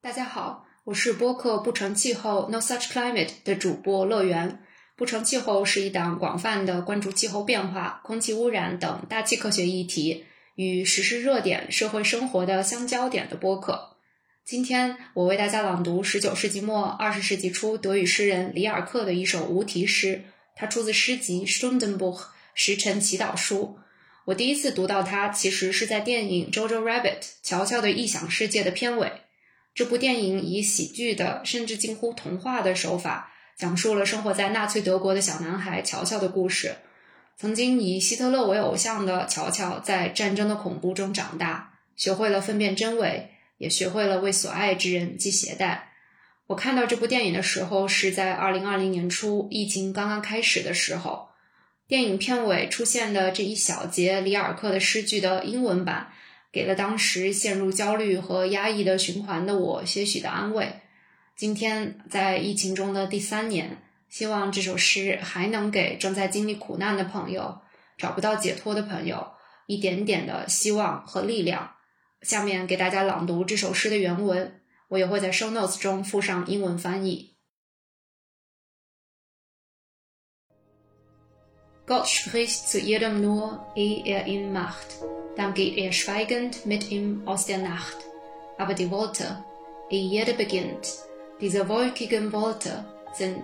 大家好，我是播客不成气候 No Such Climate 的主播乐园。不成气候是一档广泛的关注气候变化、空气污染等大气科学议题与时事热点、社会生活的相交点的播客。今天我为大家朗读19世纪末20世纪初德语诗人里尔克的一首无题诗，它出自诗集 Stundenbuch 时辰祈祷书。我第一次读到它其实是在电影 Jojo Rabbit 乔乔的异想世界的片尾。这部电影以喜剧的甚至近乎童话的手法讲述了生活在纳粹德国的小男孩乔乔的故事。曾经以希特勒为偶像的乔乔在战争的恐怖中长大，学会了分辨真伪，也学会了为所爱之人系鞋带。我看到这部电影的时候是在2020年初，疫情刚刚开始的时候。电影片尾出现的这一小节里尔克的诗句的英文版给了当时陷入焦虑和压抑的循环的我些许的安慰。今天在疫情中的第3年，希望这首诗还能给正在经历苦难的朋友、找不到解脱的朋友一点点的希望和力量。下面给大家朗读这首诗的原文，我也会在 show notes 中附上英文翻译。Gott spricht zu jedem nur, ehe ihn macht, dann geht schweigend mit ihm aus der Nacht. Aber die Worte, ehe jeder beginnt, diese wolkigen Worte sind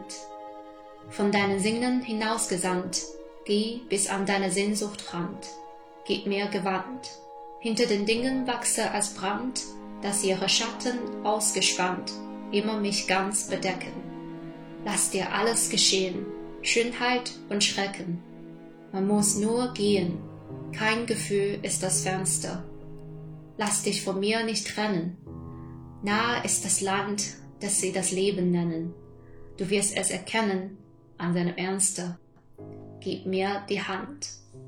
von deinen Sinnen hinausgesandt, geh bis an deine Sehnsuchtrand, gib mir Gewand. Hinter den Dingen wachse als Brand, dass ihre Schatten ausgespannt immer mich ganz bedecken. Lass dir alles geschehen, Schönheit und Schrecken.Man muss nur gehen, kein Gefühl ist das Fernste. Lass dich von mir nicht trennen. Nahe ist das Land, das sie das Leben nennen. Du wirst es erkennen an seinem Ernste. Gib mir die Hand.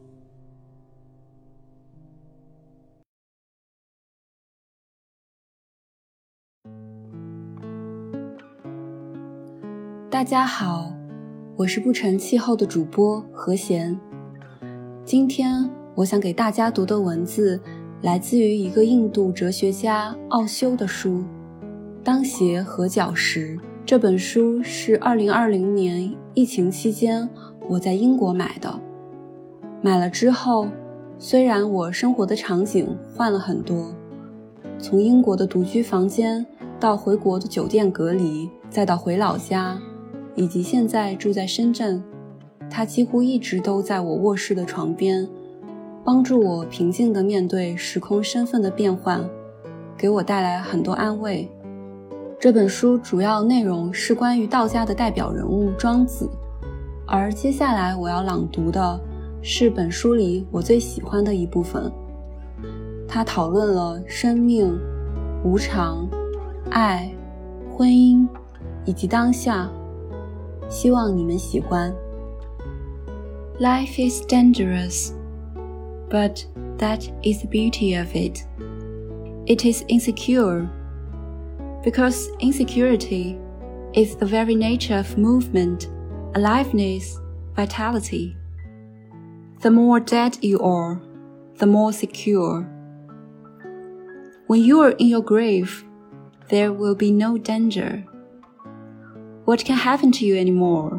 大家好，我是不成气候的主播何贤。今天我想给大家读的文字来自于一个印度哲学家奥修的书《当鞋合脚石》。这本书是2020年疫情期间我在英国买的。买了之后，虽然我生活的场景换了很多，从英国的独居房间到回国的酒店隔离，再到回老家，以及现在住在深圳，它几乎一直都在我卧室的床边，帮助我平静地面对时空身份的变换，给我带来很多安慰。这本书主要内容是关于道家的代表人物庄子，而接下来我要朗读的是本书里我最喜欢的一部分。它讨论了生命、无常、爱、婚姻以及当下，希望你们喜欢。Life is dangerous, but that is the beauty of it. It is insecure, because insecurity is the very nature of movement, aliveness, vitality. The more dead you are, the more secure. When you are in your grave, there will be no danger. What can happen to you anymore?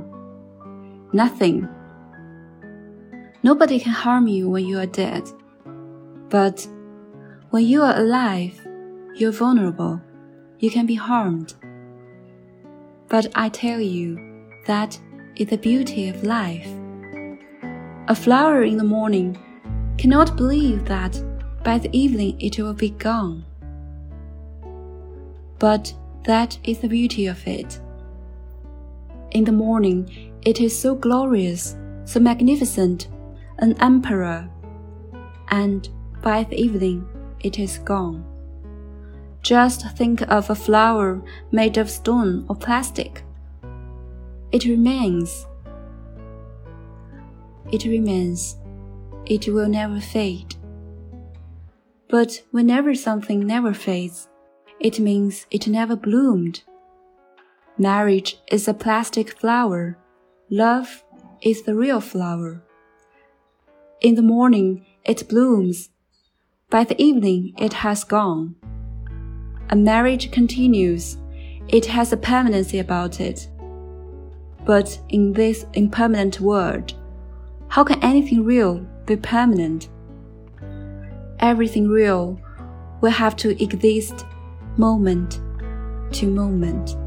Nothing.Nobody can harm you when you are dead. But when you are alive, you're vulnerable. You can be harmed. But I tell you, that is the beauty of life. A flower in the morning cannot believe that by the evening it will be gone. But that is the beauty of it. In the morning, it is so glorious, so magnificent,an emperor, and by the evening it is gone. Just think of a flower made of stone or plastic. It remains. It will never fade. But whenever something never fades, it means it never bloomed. Marriage is a plastic flower. Love is the real flower.In the morning, it blooms. By the evening, it has gone. A marriage continues. It has a permanency about it. But in this impermanent world, how can anything real be permanent? Everything real will have to exist moment to moment.